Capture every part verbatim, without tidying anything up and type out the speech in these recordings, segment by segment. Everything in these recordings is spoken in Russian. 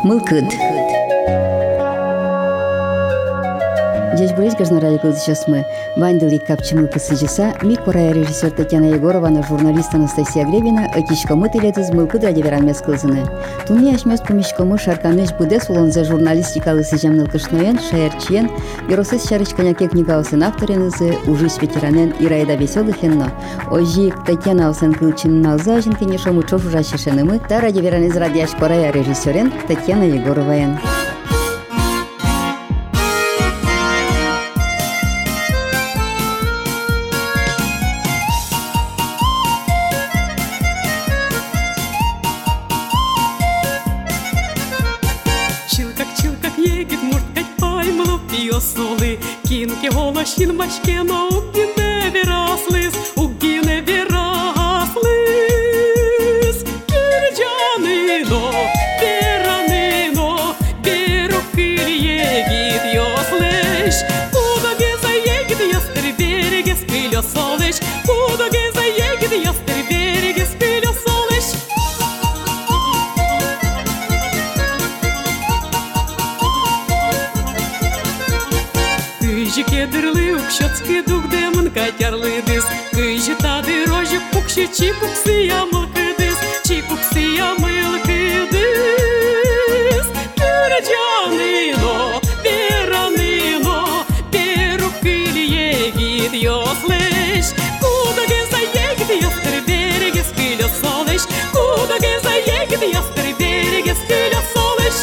Мылкыд. Здесь брызг гажнаради сейчас мы вандели капчимы посыжиса микора режиссер Татьяна Егорова на журналист Анастасия Гребина отичка мытылет из мылкыд ради верамес кылзыны. Туни ашмес помещкомы шарканыш будес улонзе журналистикалы сыжамныл кышноен шаерчиен геросес шарычканяке книгаусын авторенызы ужись ветеранен Ираида Веселых енно. Ожи Татьяна Осен Кылчин налза жинкине шому чош ужащишенымы та ради веранез радиаш корая режиссерен Татьяна Егороваен. Кинки голощин машкено угіне вераслис, угіне вераслис. Кирджанино, веранино, берукир егит йослеш. Куда геза егит ястер береге спилё солеш. Куда геза егит ястер береге спилё солеш. Кыжы кедрлы укшотский дух демон катярлы дыс. Кыжы тады рожик пукши чикуксы ямылкы дыс. Чикуксы ямылкы дыс. Кырджаныно, вераныно, берукыль егит йослеш. Куда геза егит ястыр береге спилё солеш. Куда геза егит ястыр береге спилё солеш.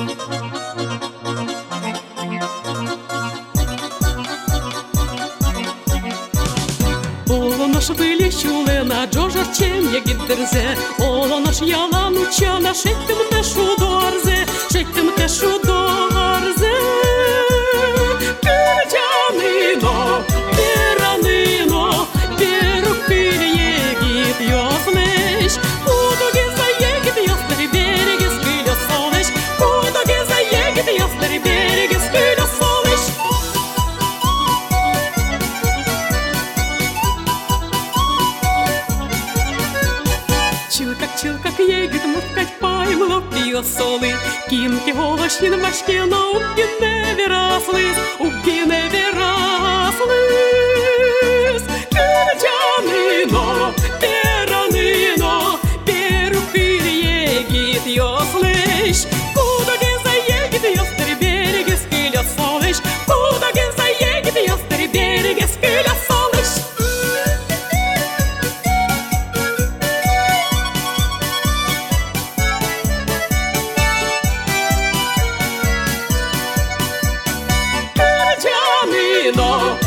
Олонош были чулена, джожар чем егиддерзе. Олонош ялан учана, шеттим тешу дорзе, шеттим тешу дорзе. Кырджаныно, вераныно, берукыль егит йослеш. Куда геза егит ястыр береге спилё солеш. Куда геза егит ястыр береге спилё солеш. Чилкак егит муткать паймло пьё солы. Кинки голощин машкено угіне вераслис, угіне вераслис. Кырджаныно, вераныно, берукыль егит йослеш. Куда геза егит ястыр береге спилё солеш. Куда геза егит ястыр береге спилё солеш. Кырджаныно,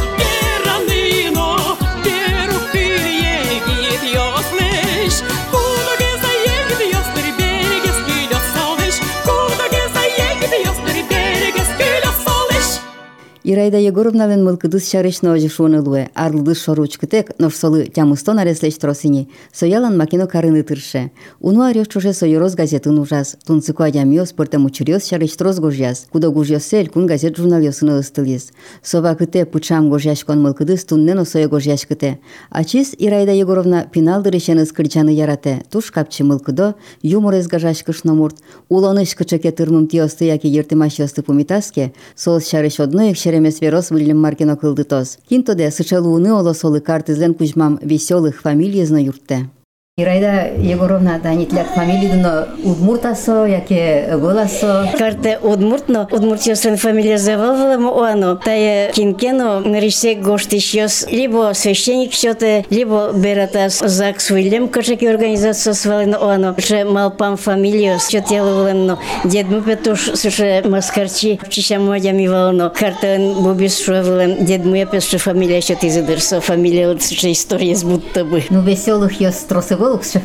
вераныно, берукыль егит йослеш. Куда геза егит ястыр береге спилё солеш. Куда геза егит ястыр береге спилё солеш. Ираида Егоровнален мылкыдыс шарышно ожишуонылуэ, арлыдыс шоручкытек, ношсолы тямустон ареслеш тросини, соялан макино карыны тырше. Уну арёс чуже сойороз газетын ужас, тунцыку адямиос пыртем учурёс шарыш троз гожьяс, кудо гожьёсель кун газет журналёсыны ыстыльес. Сова кыте пычам гожьяшкон мылкыдыс туннено сое гожьяшкыте. Ачис Ираида Егоровна пиналдырышен ыскырчаны ярате, туш капчы мылкыдо, юморез гажашкыш номурт, улоныш кычыке тырмым тиосты яки ертымаш ёсты пумитаске, сол шарыш одноек шеремес верос Вильям Маркино кылдытос. Кинтоде сычалууны олосолы картызлен кузьмам веселых фамилий зно юртте. Ираида Егоровна, да нитлят фамилийдно удмуртасо, яке голасо. Карте удмуртно, удмуртиосен фамилия завалвала оано. Тая кинкено нарисек гоштищос, либо священник счёте, либо бератас ЗАГС Вильям кошаки организация свалено оано. Ше малпам фамилиос, счётеловлено. Дед мупетуш суше маскарчи, чищам мадями вално. Карте бубис шуавлен, дед мупетуш фамилия счёте изыдырсо, фамилия суше история будто бы. Ну веселых ёс тросы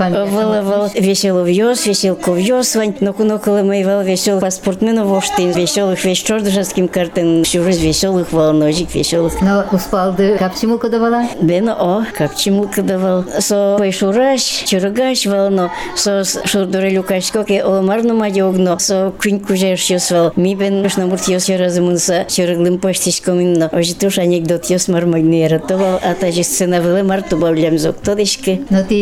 Вал весело вьёс, веселко вьёс, вань, но куноколы мои вал весел паспортмена воштин, веселых весь чордышевским картен, всю раз веселых волножик, веселых. Но успалды капчиму кодавала? Бено о, капчиму кодавал. Со пойшураш, чургаш волно, со шурдурелю кашкоке оламарну мадёгно, со куньку жершёс вал. Ми бен шнамурт ёс яразымынса, чурглым поштишком инно. Ожитуш анекдот ёс мармагны яратовал, а та же сцена вылы марту бавлям зок тодышки. Но ты фамилию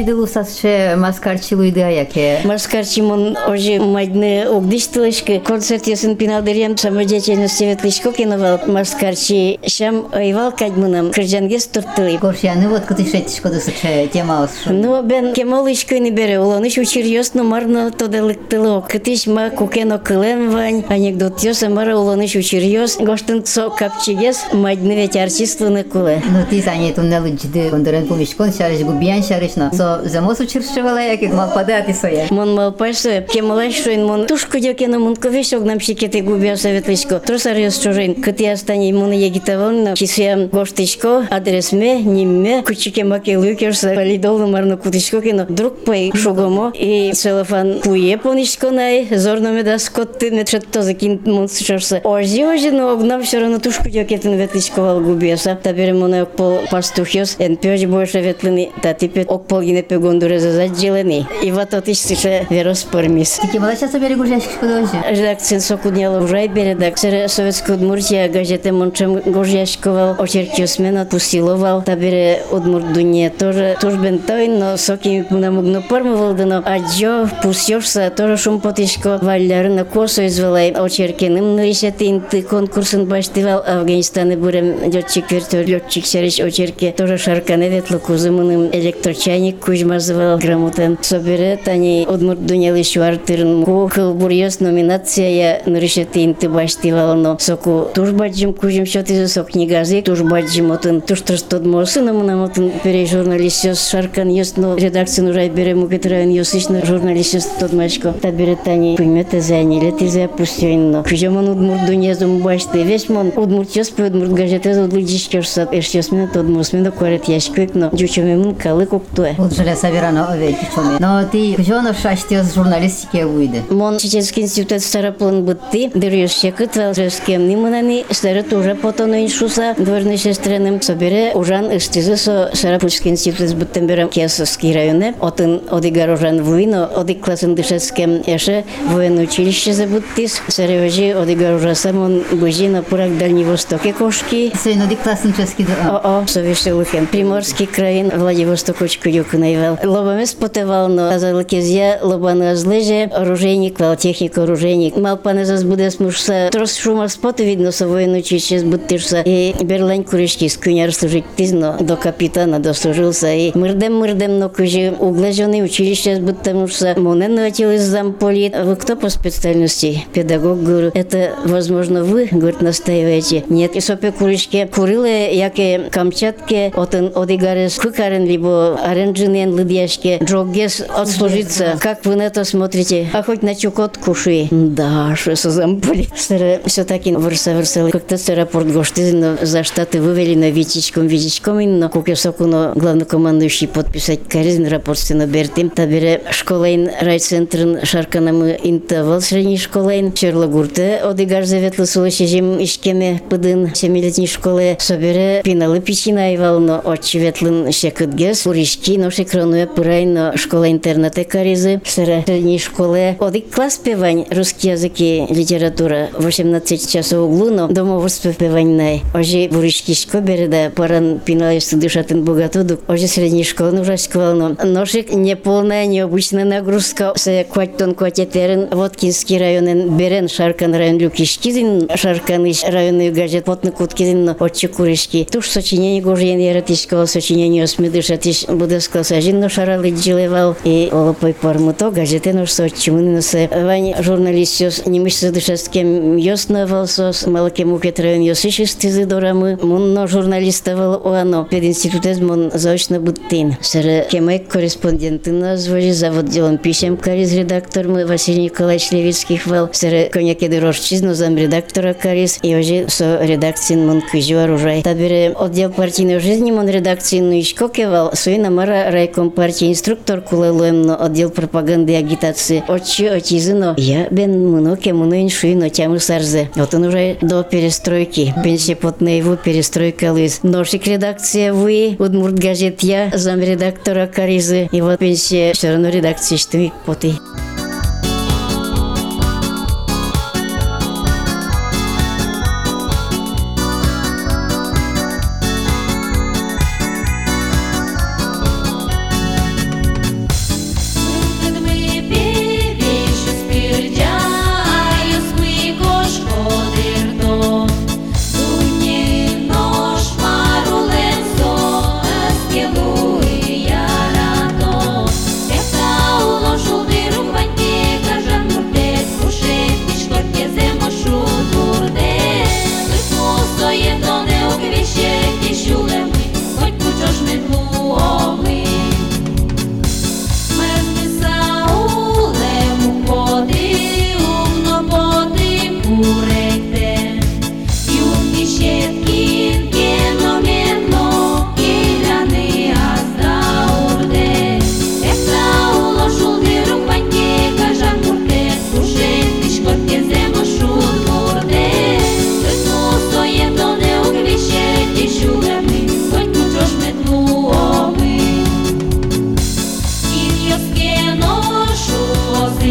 видел усасше маскарчилу идея яке. Маскарчимон уже мадне огдиштылышкы концерт ясын пиналдырем самодеятельности ветлышко киновал маскарчи шам айвал кадмунам кыржангес турттылы. Горшяны вот кытышетишко дысыче тема осшу. Ну бен кемолышкы не бере уланыш учирьёс но марно тодалыктыло. Кытыш ма кукено кылен вань анекдот ёса мара уланыш учирьёс гоштын со капчигес мадне ведь артистлыны куле. Ну ты занят уннелы джиды ондырен помешкон шарыш губиян шарышно. Со замос учиршевала яке малпадати соя. Мон малпайсы кемолаш шойн мон тушку дёкено мон ковеш огнам шикете губия советлышко. Тросарьёс чужин кыты астани мон егитавон чисям гоштышко адресме нимме кучике маке лукерса полидолно марно кутышко кино друг пой шугомо и целофан куе понишко най зорно ме да скотты метрет то закин мон сушорса. Ожи ожи но огнам всё равно тушку дёкетен ветлышко губиоса. Табере мон окпол пастухёс ен пёж больше ветлыни та типет окпол гине пегондуре за заделени. И вот от истише верос пермис. Тики малаша собери гужяшки дожи. Редакция сокудняла уже бередак. Сера советская Удмуртия газета мончем гужяшковал очерки смена пустиловал. Табере Удмуртдуне тоже тоже бентой, но соки намогно пормовал дано. А джо пустёшься тоже шум потишко валяр на косу извелай очерки ним нарисетин ты конкурсын баштывал Афганистаны бурем лётчик вертолёт лётчик серич очерки тоже шаркане ветло кузымыным электрочайник кужмазывал грамотен. Собере тани Удмуртдуне лишвартырн ку кылбурьёс номинация нарисетин ты баштывал но соку тужбаджим кужим шотизы сок книгазы тужбаджим отын туштырстод мосыным намотын пере журналистёс шаркан ёс но редакция нужай бере мукетрайын ёсычно журналистёс тодмашко табере тани пыймете заниле тизе пустёйн но кужемон Удмуртдуне зум башты весь мон Удмуртёс по Удмурт газете удлыджишкёрса эшёс мен тодмос мен докорет яшкык но жучемем калы коктуэ Вот желе саверано овеки чоме. Но ты кужёно шаштёс журналистике уйды. Мон Чеченский институт староплан бытты дырёс шекытвал жескем ниманани стары тоже потону иншуса дворный сестренным собере ужан ыштизы со Сарапульский институт быттемберем Кесовский районе отын одигар ужан вуино одик классын дышецкем эше военное училище забыттис сареважи одигар ужаса мон быжи на пурак Дальний Востоке кошки. Сейно дик классын чески да. О-о, совештелыхем. Приморский краин Владивостокочку юк наивал. Лобамес потевал, но азалыкезья лобаны азлыже оружейник, вал техник оружейник. Малпаны зазбудес мушса трос шума споты видно со военное училище сбыттирса и берлань куришки скуняр служить тизно до капитана дослужился и мырдем мырдем но кужи углеженный училище сбыттамушса монен наватил из замполит. Вы кто по специальности? Педагог, говорю. Это возможно вы, говорит, настаиваете? Нет, и сопе куришки курилы, яке Камчатке отын одигарес кукарен либо аренджинен лыдьяшке джоггес отслужиться. Как вы на это смотрите? А хоть на чукот куши. Да, что со замполит. Все-таки вырса-вырса. Как-то рапорт гоштызно за штаты вывели на витичком, витичком, но кукесоку, но главнокомандующий подписать каризн рапорт стена бертим. Табере школайн райцентрын шарканамы интавал средней школайн. Черлагурте одигар заветлы сулышежим ишкеме пыдын семилетней школы. Собере пиналы пичина айвал, но очеветлын шекытгес. Уришки, но шекронуя пырайн, но школа-интернате каризы. Средней школы одик класс певань, русский язык и литература. восемнадцать часов углу, но домоводство певань най. Ожи буришки шкобере, да паран пиналисту дышатын богатуду. Ожи средней школы нужа школа, но ношик неполная, необычная нагрузка. Се кватьтон кватетерен, Воткинский район берен, Шаркан район люкишкизин, Шаркан иш районный гаджет потны куткизин, но отче куришки. Туш сочинение гожьен яратишкова, сочинение осмедышатиш будескал сажин, но шаралы джилевал. И олопой пармуто, гаджете нож сочимын, но се вань журналистёс, немыш дышаскем ёснавалсос, малаке мукет район ёсышистизы дорамы, мунно журналистовал оано, пединститутез мон заочно буттин. Сэр кемек корреспонденты назвали, завод делом писем кариз редактор мы Василий Николаевич Левицкий хвал, сэр коняке дорожчизно зам редактора кариз, и уже со редакции мон квизю оружай. Табере отдел партийной жизни мон редакции ну ишко кевал, суина мара райком партии инструктор кулелуем, но отдел пропаганды и агитации. Отчи отизыно, я бен муноке муно иншуино тямы сарзе. Вот он уже до перестройки, пенсия потна его перестройка лыз. Ношик редакция вы, Удмурт газет я, зам редактора каризы, и вот пенсия все равно редакции что и поты.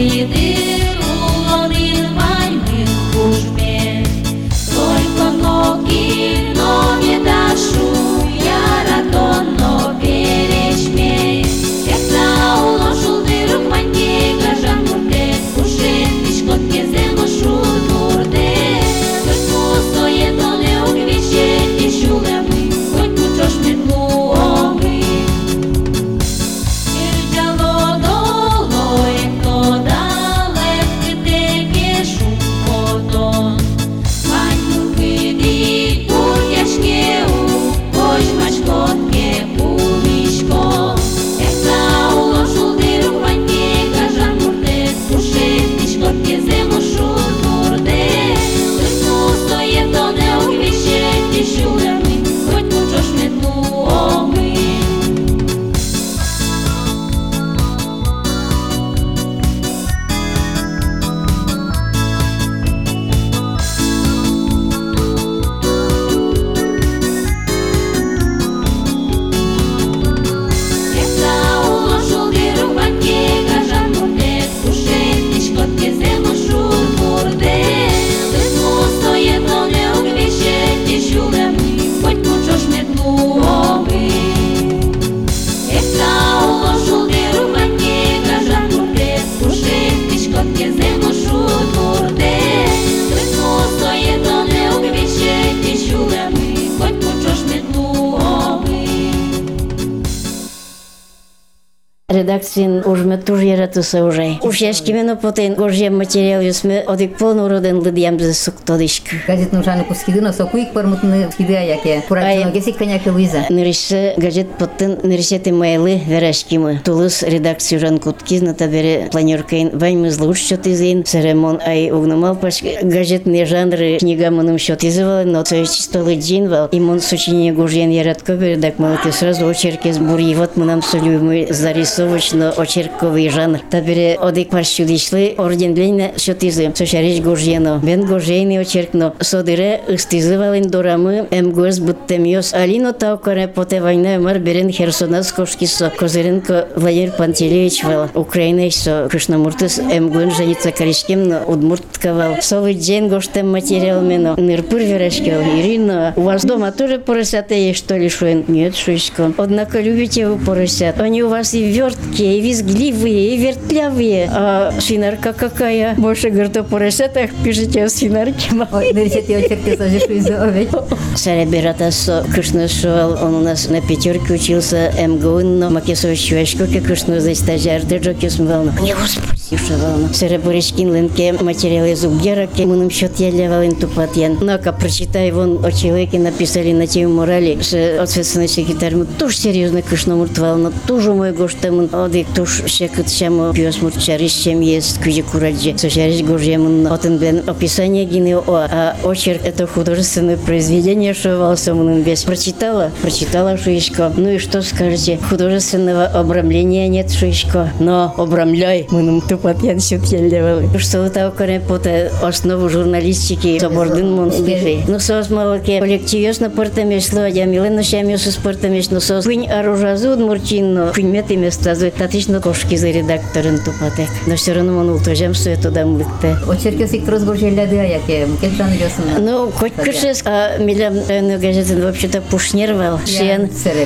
Сидыр улонин вальмин кушме, только ноги, но не дашу, яратон, но перечме. Ехта уложил дырок маньке, гажан мурте, кушет, пешкот кезем ошут мурте. Хоть пустое, то не угвище, тишуле мы, хоть кучош метлу омы. Ирджало долой, кто далек, где шум потон. Маньку киди, путяшкеу, хоть мачкотке пумишко. Ехта уложил дырок маньке, гажан мурте, кушет, пешкот кезем ошут мурте. Хоть пустое, то не угвище, тишуле мы, хоть кучош метлу омы. Ехта уложил дырок маньке, гажан мурте, кушет, пешкот кезем ошут мурте. Хоть пустое, то не угвище, тишуле мы, хоть кучош метлу омы. Ехта уложил дырок маньке, гажан мурте, кушет, пешкот кезем ошут мурте. Хоть пустое, то не угвище, тишуле мы, хоть кучош метлу омы. Редакциян ужме туж яратыса уже. Уж яшкимено потен гожьем материал юсме одик полно роден лыдьям за суктодышк. Газет нужаны кускидыно сокуик пармутны скиды аяке. Пуратино гесик коняки Луиза. Нырышсы газет поттын нырышеты майлы верашкимы. Тулыс редакцию жан куткизна табере планеркаин ваймыз луч счет изын. Серемон ай угнумал паш газетные жанры книга мыным счет изывал, но то есть столы джинвал. Имон сочинение гожьен яратко бередак малыки сразу очерки сбури. Вот мы нам солюмы зарисовочно очерковый жанр. Табере одик парщудишлы орден длинне счет изы. Сочарич гожьено. Бен гожьейный очеркно. Содыре ыстизывалын дорамы эмгуэс буттемиос. Алино таукаре поте война мар берен Херсонас кошкисо. Козыренко Владимир Пантелеевич вал. Украинайсо Кришнамуртыс эмгуэн женится коричкем, но удмуртковал. Совы джен гоштем материал мено. Нырпыр верашкел. Ирина, у вас дома тоже поросята есть, что ли, шуэн? Нет, шуйсько. Однако любите вы поросят. Они у вас и верткие, и визгливые, и вертлявые. А свинарка какая? Больше, говорит, о поросятах пишите о свинарке. Ой, нырышети очерки сожишу из овеч. Сарабиратасо Кришнашуал, он у нас на пятерке учился МГУ, но Макесович Чувашко, как Кришну за стажар, держок юсмвално. Не господи, шавално. Сарабуричкин ленке материалы зубгераки, мы нам счет ялявалин тупатьян. Ну-ка, прочитай вон о человеке написали на тему морали, что ответственный секретарь, мы тоже серьезно Кришнамуртвал, но тоже мой гоштамын, одик туш шекат шамо пьесмурт чариш чем есть куди кураджи. Сочариш гожьемын, отын блен описание гины о, а очерк это художественное произведение, что волсомын без. Прочитала? Прочитала шуишко. Ну и что скажете? Художественного обрамления нет шуишко. Но обрамляй, мы нам тупотьян сют елевали. Что это окоре поте основу журналистики собордын мон слыши. Ну сос малаке коллективёс на портамешло, я милено шамёс спортамеш, но сос кунь оружазуд мурчинно, кунь меты места зует, татично кошки за редакторын тупотек. Но все равно он ултожем, что это дам лыкте. Очерки сиктрос гожьеляды аяке. Кетжан ёсын. Ну, хоть кышес, а милям районную газету вообще-то пушнервал. Шен.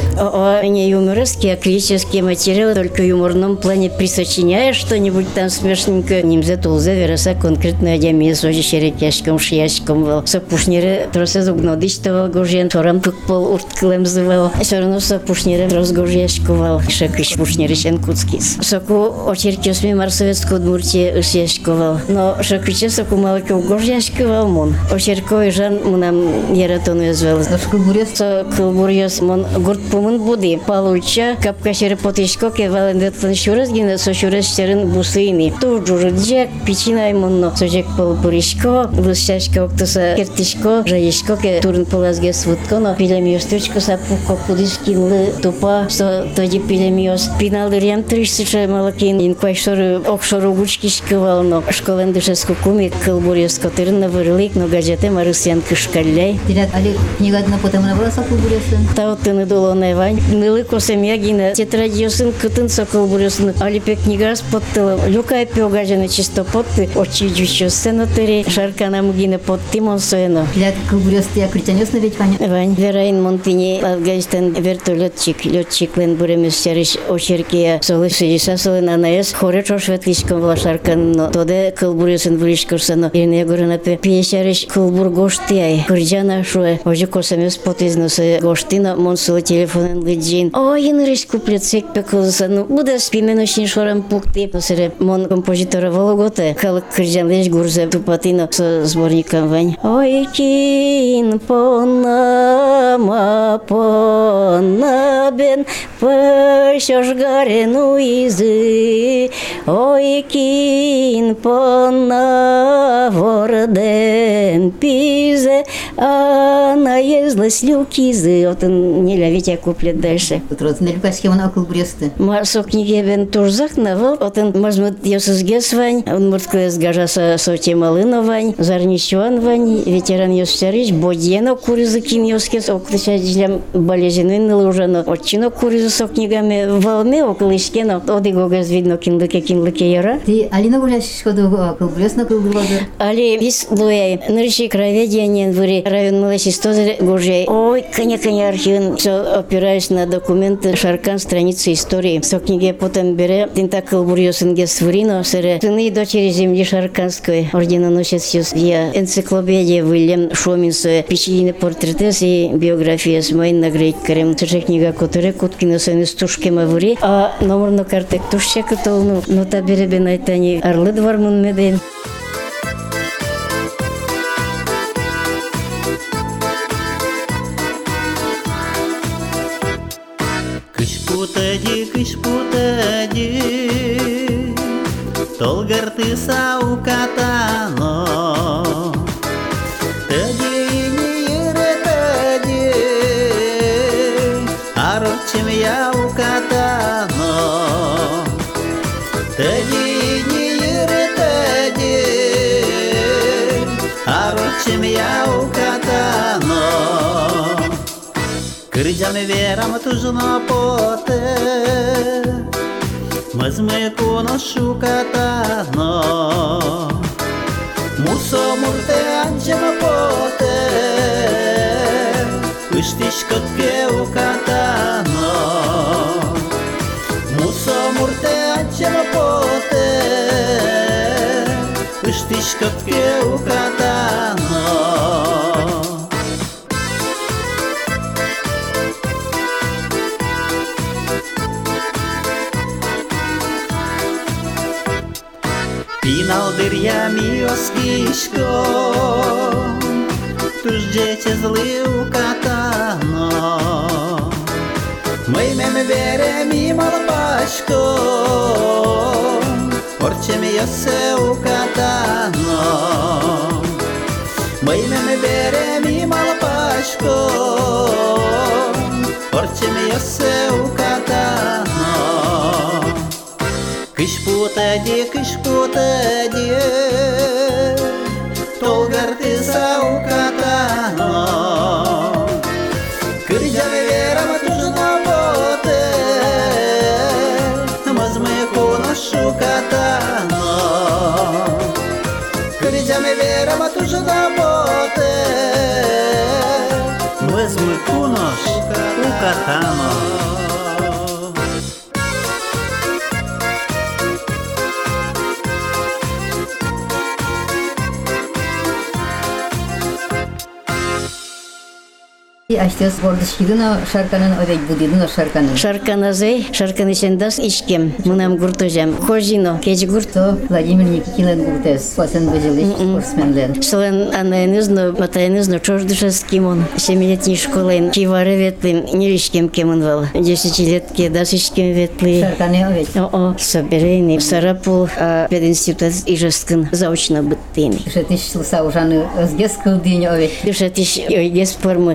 О, не юморские, а классические материалы, только в юморном плане присочиняешь что-нибудь там смешненько. Нимзе тулзе вероса конкретно одями сожи шерекяшком, шияшком вал. Со пушнеры тросе зугнодыштовал гожьен, торам тук пол урткалем зывал. Все равно со пушнеры розгожьяшковал. Шакыш пушнеры шен куцкис. Соку очерки осми марсоветскую Удмуртии ысяшковал. Но шакыче соку малаков гожьяшковал мон. Очерковый жан мунам яратону звал. Со кылбурьёс мон гурт пумын буди. Получа капка шеры потышко ке валендетлан шурезгина со шурезштерын бусыйни. Ту журджек пичинай монно. Сожек полпуришко, высшашко октоса кертишко, жаишко ке турн полазге свутконо. Пилемиос тучко сапуко кудискинлы тупа. Со тоди пилемиос пинал малырям тридцать малакин инквайшоры окшору гучкишкывал, но школен дышеску куми кылбурьёс котырна вырылык, но гаджете марысян кышкалляй. Дилят али книгадна потемна была сокулбурьёсын. Таутыны дулоной вань. Нылы косем ягина тетрадьёсын кытын сокулбурьёсын. Али пек книгас поттыла. Люкай пёгажаны чисто потты. Очи джущё сценотыри. Шаркана мгина потты монсуэно. Дилят кылбурьёсты я критянёсны ведь вань. Вань. Вераин Монтини Афганистан вертолетчик. Летчик лен буремес чарыш очеркия. Солы сидиса солы нанаес. Хоре чошветличком вла шаркан. Но тоде кылбурьёсын вылишкурсано. Ирне горына пе. Пьесярыш кылбур гоштияй. Кырджана шуэ. Ожи косамес потизносы гоштина. Монсулы телефонен лыджин. Ой, инырыш куплет сек пекулса. Ну, буде спименошин шорам пукти. Посере мон композитора Вологоде. Калык кырджан леш гурзе тупатино со сборником вань. Ой, кин понама понабен пышош гарену изы. Ой, кин пона ворден пизе. А наезлась люкизы. Вот он не ловить, я куплет дальше. Утрот на люкаске он окол бресты. Марсо книги бен турзак навал. Вот он мазмут ёсызгес вань. Он мурткуя сгажаса соте малына вань. Зарнищуан вань. Ветеран ёсцарич. Бодьено куризы кин ёскес. Оклыша джилям болезины нылужано. Отчино куризы со книгами волме около ишкено. Оди гогаз видно кинлыке кинлыке яра. Ты алина гуляш шкоду окол брест на кылбурвазыр. Али бис луяй. Нырши кроведение выри район малосистозы гужей. Ой, коня-коня архивен. Все опираясь на документы шаркан страницы истории. Со книги потом бере. Тинта кылбурьёсын гесврино. Сере сыны и дочери земли шарканской. Орденоносец я энциклопедия Вильям Шоминсуэ. Печатные портреты и биография с моей нагрейкарем. Сержа книга которая куткина сын стушки мавури. А номер на карте тушча католну. Но та бере бенайтани орлы двармун меден. Кыш-путади, кыш-путади, толгар-ты саукатано. Тади не ере-тади, арочим я укатано. Тади не ере-тади, арочим я укатано. Кырджаны верам тужно поте, мазмы коношу катано. Мусо мурте анчама поте, ыштиш котке укатано. Мусо мурте анчама поте, ыштиш котке укатано. Пинал дырья миоскишко, туж дети злы укатано. Мы мем берем мимо лопашко, орчем ёсе укатано. Мы мем берем мимо лопашко, орчем ёсе укатано. Кыш-путади, кыш-путади, толгар-ты саукатано. Кырджаны верам тужно поте, мазмы коношу катано. Кырджаны верам тужно поте, мазмы коношу катано. Аштес бордышкидына шарканын овек будидына шарканын. Шарканазей, шарканышендас ичкем. Мынам гуртожам. Хожино, кеч гурто. Владимир Никитин гуртес. Пасен бежилыш спортсменлен. Солен анаенызно, матаенызно, чождышас кимон. Семилетний школен. Кивары ветлим, неришкем кемон вал. Десятилетки, дасышкем ветли. Шарканы овек. О-о, соберейный. Сарапул, а пединститут ижескин заочно быттыни. Шетиш слыса ужаны özges кылдыйны овек. Шетиш ойгес формы, а уйва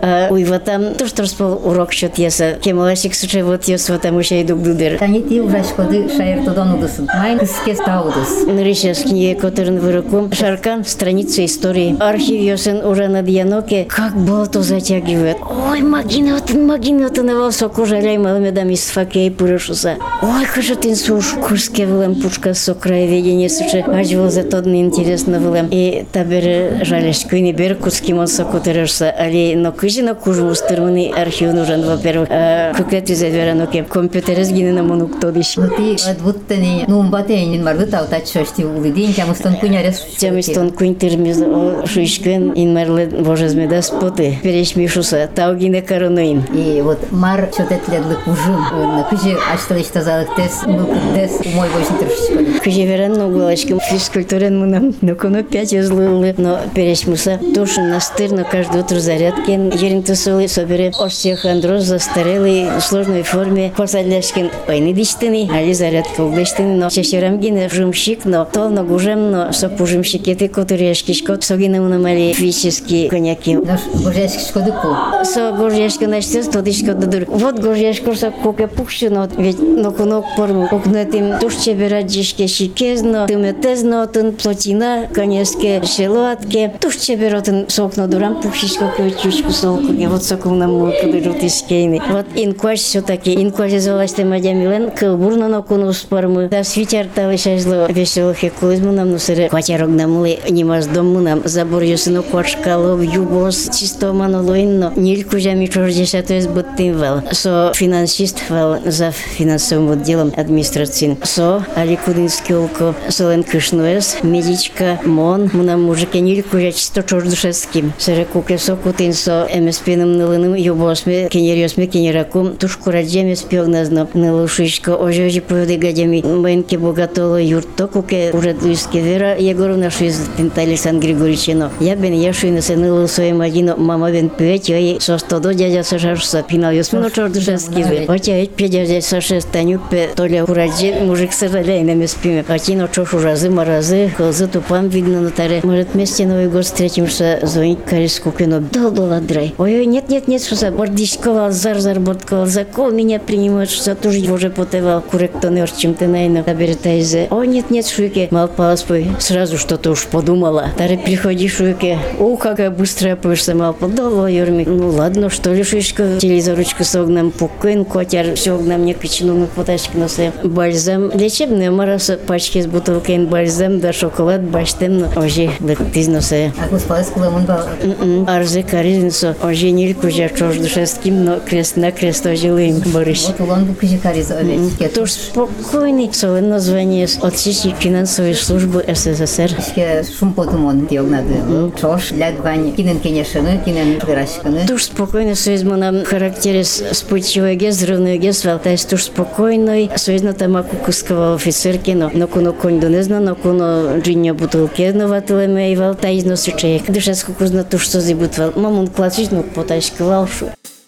вот там то, что распол урок счет еса. Кемаласик сучай вот ес вот там еще иду гдудер. Тани ти ужаш коды шаертодан удысын. Майн кыске стаудыс. Нырищас книге которым выруком. Шаркан, страница истории. Архив йосен уже над Яноке. Как болото затягивает. Ой, магинотын, магинотын, его соку жаляй малыми дам из факей пурышуса. Ой, кажу ты суш, курске вылем пушка со краеведения сучай. Ажвал за тот неинтересно вылем. И табер жаляш куйни бер куски мон соку тырышса. Али, но кыжи на кужу стырмыны архив нужен, во-первых. Куклет из Вераноке. Компьютерез гины на монук тодиш. Ну ты отвуттани, ну умбатейнин марды тау тачшошти улыдин, тямыстон кунярес. Тямыстон кунь тырмиз шуишкен инмарлы божезмеда споты. Перешмишуса, тау гины коронуин. И вот мар чотетледлы кужым. На кыжи ашталыш тазалык тес, мылкыт тес, умой бойшин тыршышкоды. Кыжи веран ногулачкам физкультурен мунам. Но коно пять излылы, но перешмуса. Тушин настыр, но каждое утро зарядкен. Ерин тусулы собере остеохондроз застарелый в сложной форме. Посадляшкин ойны диштыны, али зарядка углештыны, но чешерам гине жумщик, но толно гужем, но соп ужимщикеты, которые шкишкот, согинам намали физически коньяки. Наш гожешки шкоды ку. Со гожешка начнет, то дишко дадур. Вот гожешка со коке пухшино, ведь но кунок форму. Кукнетим тушче бераджишке шикезно, тыметезно, тын плотина, коньяске шелуатке. Тушче беротын сокно дурам пухшишко кючку солку. Вот соком нам мулкадырут искейны. Вот инкваш все-таки, инкваш изолашты мадямилен, кылбурно на куну спармы. Да свитяр талышажло веселых экулизму нам нусыры. Кватярок намылы, немаз дому нам, забор юсыну квашкалов, юбос, чисто манолуинно. Нильку жами чордеша, то есть будтым вал. Со финансист вал за финансовым отделом администрации. Со аликудинский улко, солен кышнуэс, медичка, мон, мунам мужике нильку жа чисто чордушеским. Сыры куке сокутин со эмеспиным нылыным юбосме, кенерьосме, кенеракум, тушку раджеме спёгназно, нылушишко, ожежи поведы гадями, мэнке богатоло юрто, куке уже дуиске вера, Егоровна шуиз тинта Александр Григорьевичино. Я бен я шуина се нылыл своим одино, мама бен певет, я ей со стодо дядя сашарса, пинал ёсмино чордушески ве. Хотя ведь пе дядя саше станюк пе, толя урадже, мужик сожалей на меспиме. Хотино чошу разы, маразы, колзы тупам видно на таре. Может, вместе Новый год встретимся, звонить кариску кино. Долго ладрай. Ой, нет, нет, нет, что за бордишковал, зар-зар бордковал, закол меня принимают, что тоже уже потевал, куректонер, чем ты найно, табертайзе. Ой, нет, нет, шуйке, мал паспой, сразу что-то уж подумала. Таре приходи, шуйке, о, какая быстрая пышься, мал подоло, юрми. Ну ладно, что ли, шуйка, телезоручку согнам, пукын, котяр, согнам, не кичину, ну, потачки носе. Бальзам, лечебная мараса, пачки с бутылкой бальзам, да шоколад, баштем, но ожи, лектиз носе. А господа скулемон бал. Арзе каризинсо, ожи нильку жа чождушеским, но крест на крест ожилым борыш. Вот улон бу кыжи кариз овечке. Туж спокойный, солен название от всей финансовой службы СССР. Ишке шум потумон диогнады. Чош, лядвань, кинен кенешыны, кинен гырашкыны. Туж спокойный союзмо нам характере спутчивой гез, взрывной гез, валтайс туж спокойный, союзно тамаку кусковал офицерки, но но куно конь донезно, но куно джинья бутылки, но ватылеме и валтайс носучеек. Душа скукузна туж что зибутвал. Мамун классич, но потачки валшу.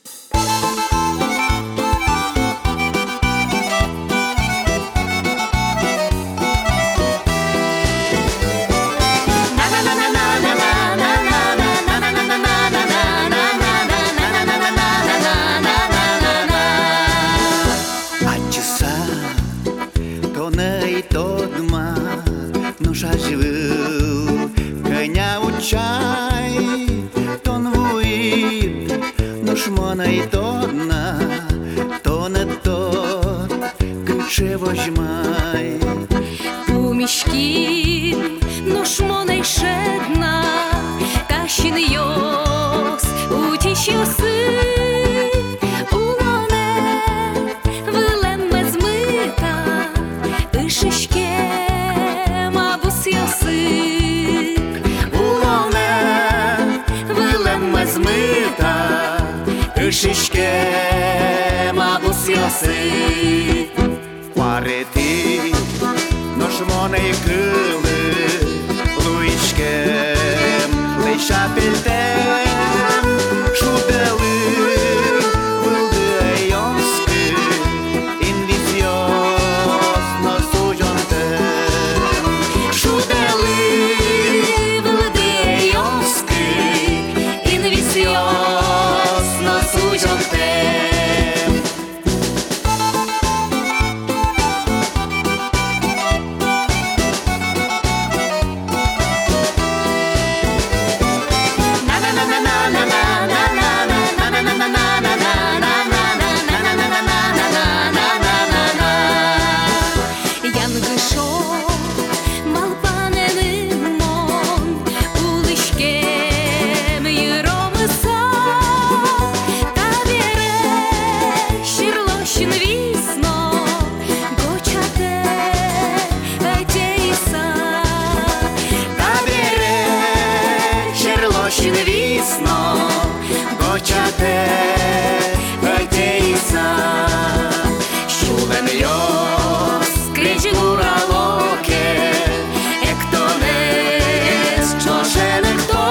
Шишке мабус ясы Парети Нож моней кылы Луишкем Лейшапельтем Шуделы Вылды айонсky Инвизиоз Носуjonтем Шуделы Вылды айонсky Инвизиоз весно, гочате гайтеиса, шулен йос крич гуралоке, ектонес чошене хто,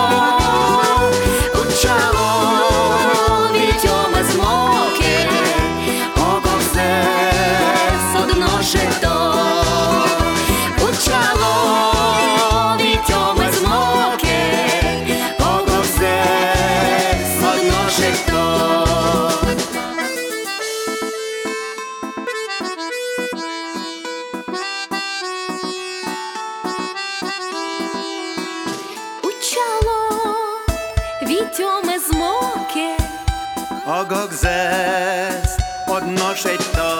учало вітьоме змоке, оговзе содноше хто, учало вітьоме змоке, оговзе содноше хто. Учало вітьоме змоке, Огогзес одношить то.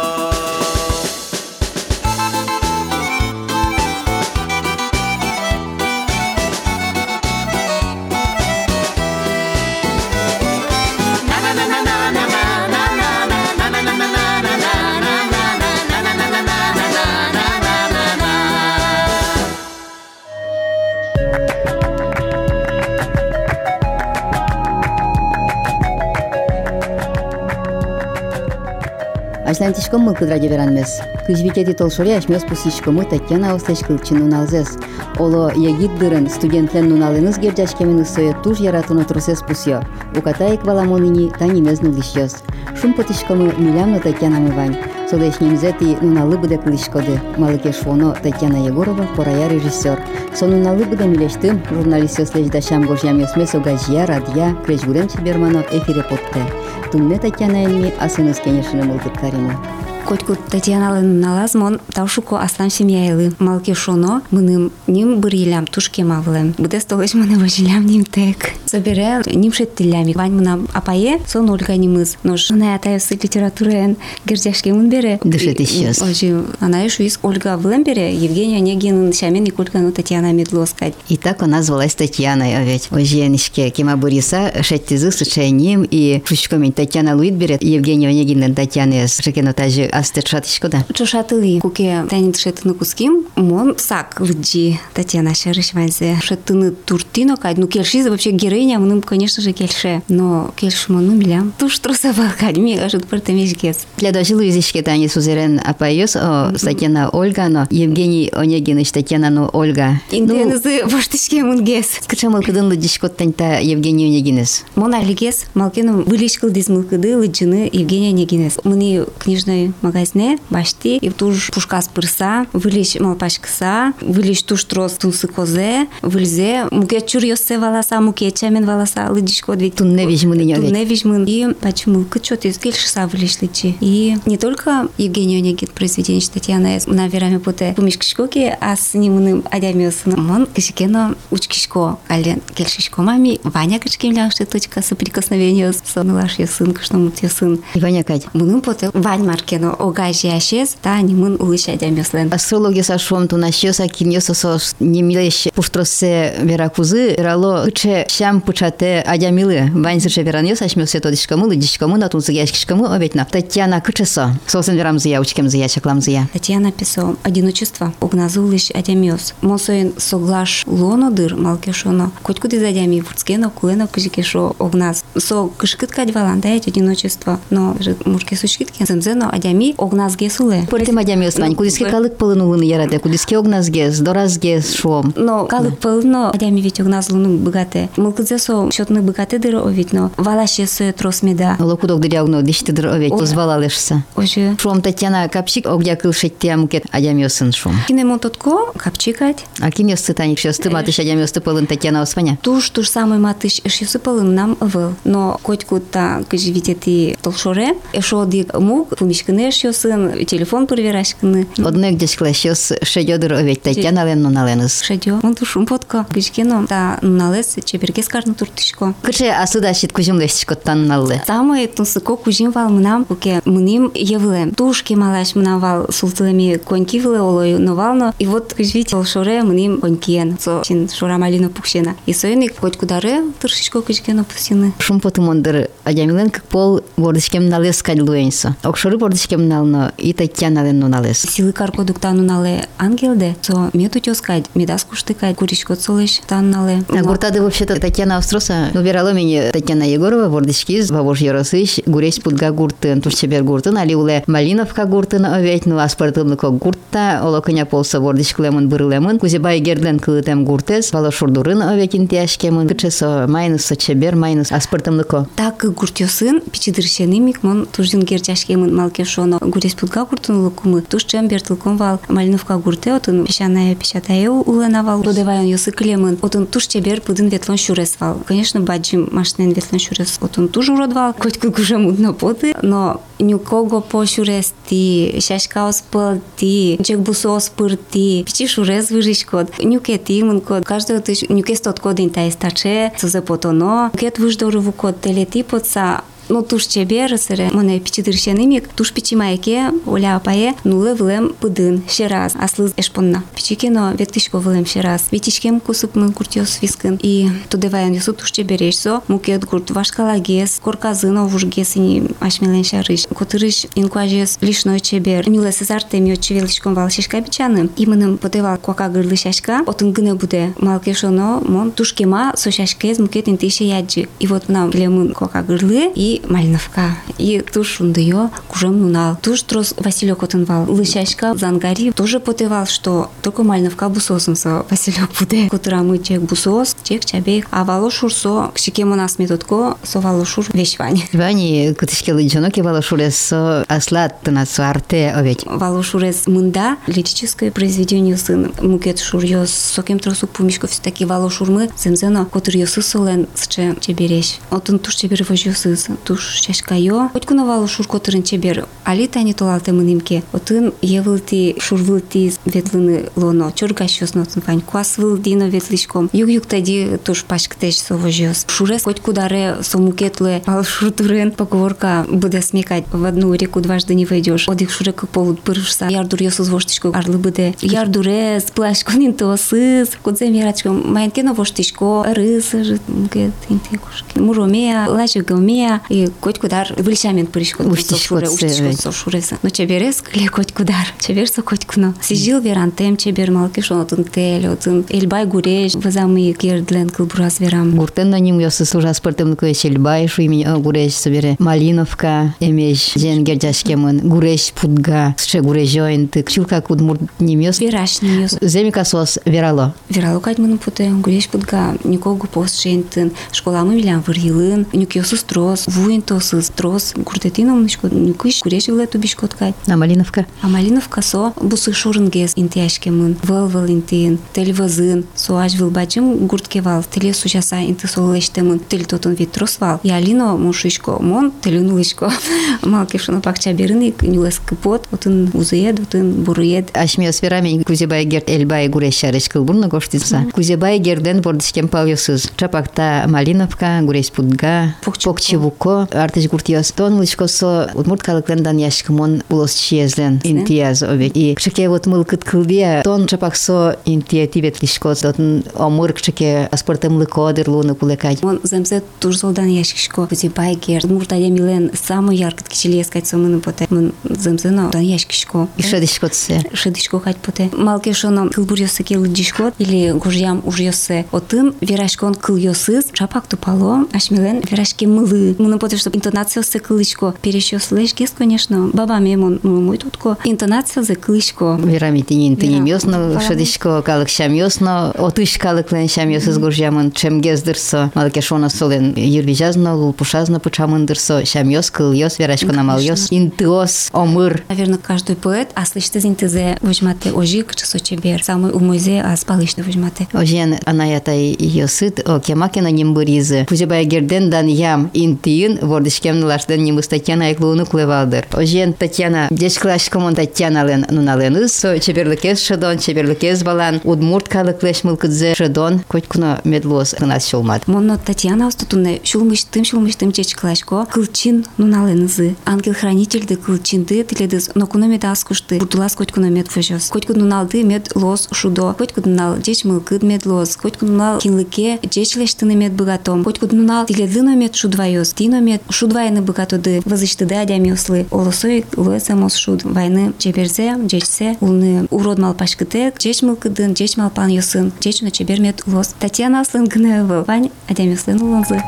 Ашлантишком мылкы радио веранмес. Кыжвикети толшоре ашмес пусишкомы Татьяна Остачкылчы нуналзес. Оло ягид дырын студентлен нуналыныз герджашкемин ысое туж яратыны турсес пусьё. Укатаек валамонини танимез нулишьёс. Шум потишкомы милямно Татьяна мывань. Солешнемзети нуналы быда кылышкоды. Малыке швоно Татьяна Егорова, порая режиссер. Со нуналы быда милештым, журналист слеждашам гожьямёсмес огажья, радья, кречгудем чебермано эфире потте. Тумне Татьяна эльми, асыныз кенешыны мылкыт каримы. Котку Татьяналын налазмон таушуко аслам семьяйлы. Малке шоно мыным ним бір елям тушке мавлем. Будес толыш мыны важилям ним тек. Собере ним шеттилями. Вань мынам апае, сон Ольга нимыз. Нож на атайсы литературен гердяшке мын бере. Дышет исчез. Ожи, она еще из Ольга влем бере, Евгения Онегин, Шамен и Колька, ну Татьяна Медлоскать. И так она звалась Татьяной, а ведь оженишке Кима Бориса, шеттизы с учением, и шучками Татьяна Луид берет, Евгения Онегин, Татьяна с шекенотажи астыршатышко, да? Чошатылы, куке тайнит шеттыны куским, мон сак лыджи Татьяна шарышванзе. Шеттыны туртино кать, ну кельши вообще героиня, мным, конечно же, кельше. Но кельшу мону милям. Туш трусова кать, ми ажут портамешгес. Для дожили изишке тани сузерен апайос, о Татьяна Ольга, но Евгений Онегин, Татьяна, ну Ольга. Инденезы воштышке мунгес. Скача мылкыдын лыджишко таньта Евгений Онегинес. Мон алигес, малкену вылишкал диз мылкыды лыджины Евгения Онегинес. Мыни книжной магазине башти, и туж пушкас пырса, вылиш малпашкса, вылиш туж трос тунсы козе, выльзе, муке чурьёсе валаса, муке чамен валаса, лыджишко две. Тунне вижмын инёвет. Тунне вижмын. И почему кычот из кельшса вылиш лычи. И не только Евгений Онегин произведение Татьяна, наверное, поте помешкишкоки, а с ним адямиосын. Мон кишкено учкишко, ален кельшишко мами, Ваня кишкемляши точка соприкосновения с сонылаш сын, что мут сын. И Ваня Кать. Мунын поте Вань маркено огажи ашес, та нимын улыш адямиослен. Астрология сашом тунащёса киньёсосос немилеш пуштросе веракузы, рало ыче шам пучате адямилы. Вань сыше вераньёс ашмёсе тодишкамы, лыдишкамы, натунсыгяшкишкамы, обетна. Татьяна кычесо. Сосен верам зыя, учкем зыя, чаклам зыя. Татьяна писал одиночество, огназулыш адямиос. Мосоин соглаш лоно дыр малкешоно. Хоть куда из адями вурцкено, куэно кыжикешо огназ. Со кышкыткать валандает одиночество. Но мужки сучкитки земзено адями огназ гесуле. Портем адямиос вань, кудиске калык пылынулын яраде, кудиске огназ гес, дораз гес шом. Но калык пылыно адями ведь огназ луну богате. Мылкыдзесо счетны богате дыр овить, но валаше сое трос меда. Локудок дырягно дишти дыр овить, позвалалешься. Оже. Шом Татьяна капчик, огдя кылшеття мукет адямиосын шом. Кинемо тотко капчикать. А киньёсты таник шёсты матыш адямиосты пылын Татьяна осваня. Туж туж самый матыш эшюсы пылын нам выл. Но хоть куда кыживите ти толшоре, эшо дик мук, фумишкыны эшюсын, телефон проверашкыны. Одной где шклащёс шедё дыр овить Татьяна лен нуналеныз. Шедё. Он тушум потко. Кыжкено та нуналес чеберге скарны туртышко. Кыче асыдашит кужум лестишко танналлы. Самый тунсыко кужим вал мынам, уке мыним евлем. Тушки малаш мынам вал султылами коньки вылы олой новално. И вот кыжвите толшоре мыним конькиен. Со чин шора малина пукшена. И союны хоть кудары туршичко кыжкено пусины. Шум потымондыр адямилен как пол бордышкем налез кадлуэнсо. Окшоры бордышкем нално и Татьяна нуналес. Силы каркодукта нунале ангелде, со мету тёскать, медас куштыкать, куричко цолеш таннале. А гуртады вообще-то Татьяна Австроса, убирала меня Татьяна Егорова, вордички, вавош Яросыч, гуресь пудга гуртын, тушчебер гуртын, али уле Малиновка гуртын овять, ну аспартымлыко гуртта, олоконя полса вордичклемын бырлемын, кузебай герден кылытем гуртес, валошурдурын овять интяшкемын, кычесо майнус сочебер, майнус аспартымлыко. Так гуртёсын, пичидыршенимик, мон туждин герчашкемын малкешоно, гуресь пудга гуртын лукумы, тушчем бертылком вал, Малиновка гурте, отын пещаная пещатая уленавал, додевайон ёсы клемын, отын тушчебер пудын ветлон щурес вал. Конечно, баджим машинен ветлон щурес, отын туж уродвал, хоть как уже мудно поты, но нюкого по щурес ти, шашка спал ти, чек бусо спыр ти, пичи щурес выжишь код, нюке ти мын код, каждый ты нюке стот код инта истаче, со потоно, кет выждору код телети подса. Ну туш чебер сыре, моне пичидыршенимик, туш пичимайке, оля апае, нуле вылем пыдын, щераз, аслыз эшпонна. Пичикено веткишко вылем щераз, витичкем кусып мын куртёс вискын, и тудеваян юсу туш чеберешсо, мукет гурт вашкалагес, корказыно вужгесини ашмелен шарыш, котырыш инкуажес лишной чебер, миле сезарте мио чевеличком вал шешка бичаным, и мыным потевал кока гырлы шашка, отын гыне буде, малкешоно, мон тушкема со шашкез мукет интише яджи. И вот нам лемын кока гырлы, и Малиновка. И туш ундыё, кужем нунал. Туш трос Василек отынвал. Лышашка зангари тоже потевал, что только Малиновка бусосынса Василек буде. Котырамы чек бусос, чек чабек. А валошур со кшикем у нас методко, со валошур вещвань. Вани, кутышке лыджоноки валошурес со аслат на суарте овечь. Валошурес мында, лирическое произведение сын. Мукет шурьёс, сокем тросу пумишко все-таки валошурмы, земзено, котыр ёсы солен сче чебереш. Отын туш чебер вожёсыс. Туш шашкайо, хоть куновал шур котырын чебер, али тани толалте мынимке, отын евылти шурвылти ветлыны лоно, чоргащос нотын фань, квас вылдино ветличком, юг-юг тади туш пашктеш совожёс. Шурес хоть кударе сомукетле, пал шуртурен, поговорка буде смекать, в одну реку дважды не войдешь, одих шурек полут пырышса, ярдур ёсу звоштичку, арлы буде, ярдуре, сплашку нинтосыз, кодзе мирачком, майнкено воштичко, рысы, мукет, интекушки, муромея, лачегомея, и коть кудар выльчамен пырышко уштишко со шурesa. Но чеберес кле коть кудар, чеберсо коть куно. Сижил верантем чебер малкиш отын тель, отын эльбай гуреш, вазамы кердлен кылбурас верам. Гуртен на ним ёсы служа спортым квеш эльбай, шу имени гуреш собере Малиновка, эмеш жен гердяшкемын, гуреш пудга, сше гурежоин тык, чулка кудмурт ним ёс. Вераш ним ёс. Земика сос верало. Верало кать мыным путе, гуреш пудга, никого пост шентын, школамы милян вырьылын, нюк ёсус трос, вуин тосыз трос, гуртетином нишко нюкыш, гуреш вилету бишкоткай. А Малиновка? А Малиновка со бусы шурынгес интяшкемын, выл-выл интин, тель вазын, со аж вилбачым гурткевал, теле сучаса инты солештемын, тель тотын вид тросвал. И Алино мушишко, мон телю нулышко. Малкешоно пакча берыны, нюлес кыпот, отын узыед, отын бурыед. Ашмио сферами кузебай герд эльбай гуреш шареш кылбурна гоштица. Кузебай герден бордишкем палёсыз. Чапакта Малиновка, гуреш пудга, покчевуко, артыш гуртиос. Тон лышко со удмурт калыклендан яшкымон улос чиезлен интияз овет. И кшеке вот мылкыт кылбия, тон чапак со интия тибет лишко, тон омыр кшеке аспортем лыкодыр луны кулекать. Он земзе турзолдан яшкишко, кузебай герд. Муртая милен самый яркий кичелес кать сомыны поте. Мон земзено дан яшкишко. И шедишко тсе. Шедишко кать поте. Малкешоно кылбурьосы келыдишко, или гужьям ужьосы. Отын верашкон кыльосыз, чапак тупало, ашмилен верашки мылы. Мыны поте, что интонация се кылычко. Перещёс лешкес, конечно, бабами мон мой тутко. Интонация се кылычко. Верами тинин тиним ёсно, шедишко калык шам ёсно, отыш калыклен шам ёсыз гужьямын, чем гездырсо. Малкешоно солен юрвижазно, лулпушазно пучамындырсо, шам ёс, кыл ёс, верашко намал ёс, интыос, омыр. Наверное, каждый поэт, а слышите зинтезе возьмате ожик, часо чебер, самый умойзе, а спалышно возьмате. Ожен анаята ёсыт, о кемакена нимбыризы. Кузебай герден дан ям интиин, вордышкем лаштен нимбыс Татьяна айклууну клевалдыр. Ожен Татьяна, дешклашкомон Татьянален нуналеныз, со чеберлыкез шедон, чеберлыкез балан, удмурт калыклеш мылкыдзе шедон, коть куно медлос кынас шулмат. Монно Татьяна остутуне шулмыштым, шулмыштым чечклашко, кылчин нуналенызы. Ангел-хранительды кылчинды тиледыз, но куно медас кушты, бурдулас коть куно мед вожос. Коть куно налды мед лос шудо, коть куно нал деч мылкыд мед лос, коть куно нал кинлыке, деч лештыны мед богатом, коть куно нал тиледыно мед шудвайос, тино мет шуд войны быкатуды возычтыды адямиуслы олосой луэсамос шуд войны чеберзе жечсе улны урод малпашкытек жеч мылкыдын жеч малпан юсын жеч на чебермет улос Татьяна Аслын гнева вань адямиуслын улонзы.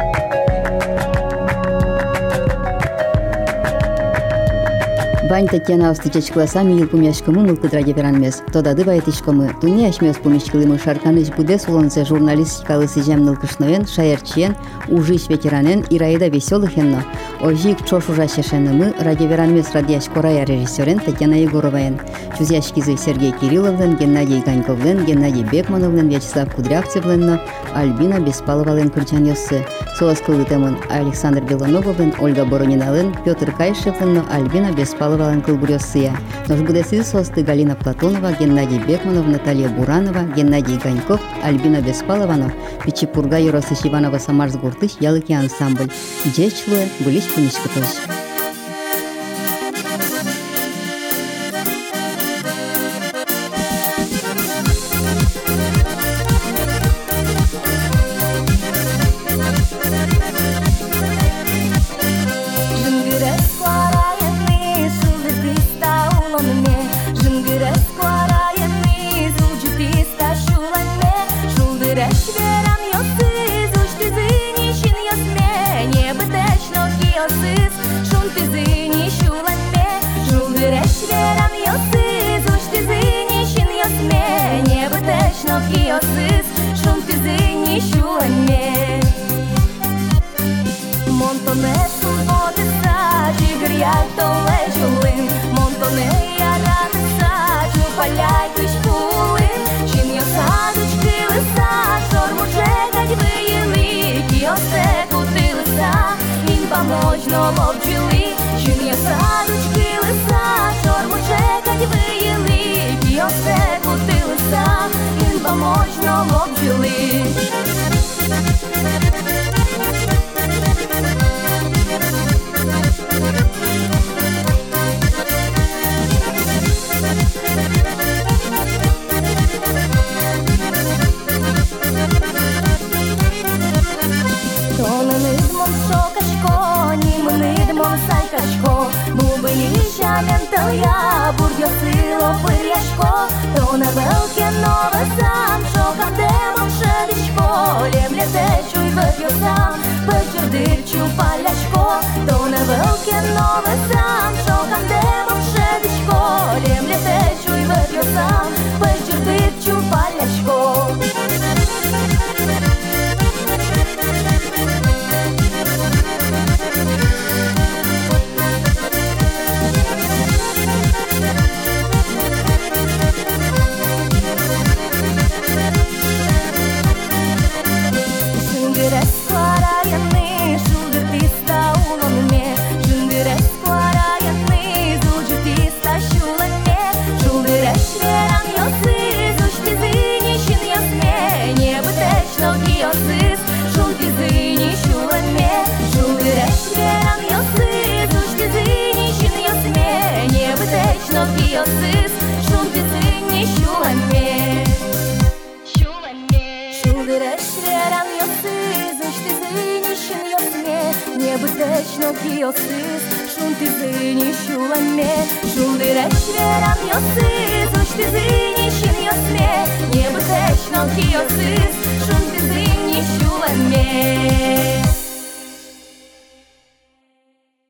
Вань Татьяна Австычеч классами ил пумяшкамы мылкыдраге беранмес. Тодады баятышкамы. Туни ашмес пумяшкылымы шарканыч будес улонзе журналистикалы сижем нылкышноен, шаярчиен, ужиш ветеранен, ираида веселыхенно. Ожик чош ужашешенымы раге беранмес радияш корая режиссерен Татьяна Егороваен. Чузяшкизы Сергей Кирилловлен, Геннадий Ганьковлен, Геннадий Бекмановлен, Вячеслав Кудрявцевлен, Альбина Беспаловален Курчаньосы. Соаскылытемын Александр Белоноговлен, Ольга Боронинален, Петр Кайшевлен, Альбина Беспалова Кылбурёсыя. Ножбудесы состы Галина Платонова, Геннадий Бекманов, Наталья Буранова, Геннадий Ганьков, Альбина Беспалова, Пичипурга Юросыч Иванова Самарсгуртыш, ялыки ансамбль. Джечлуэ, былищ пунишкатыш. Можна обчили, чим я садочки лиса, чорму чекать виїли, ті осе кутилися, він поможно обчили. Я бур'ясило пир'яшко, то на велике нове сам, що кандемом шелічко, лємля течу й вип'ю сам, вечір дирчу паляшко, то на велике нове сам, що кандемом шелічко, лємля течу й вип'ю сам, вечір дирчу паляшко. Небезпечно кіосис, шум ти зині шуламе, шум диреш вірам йосис, уж ти зині шин йосме, небезпечно кіосис.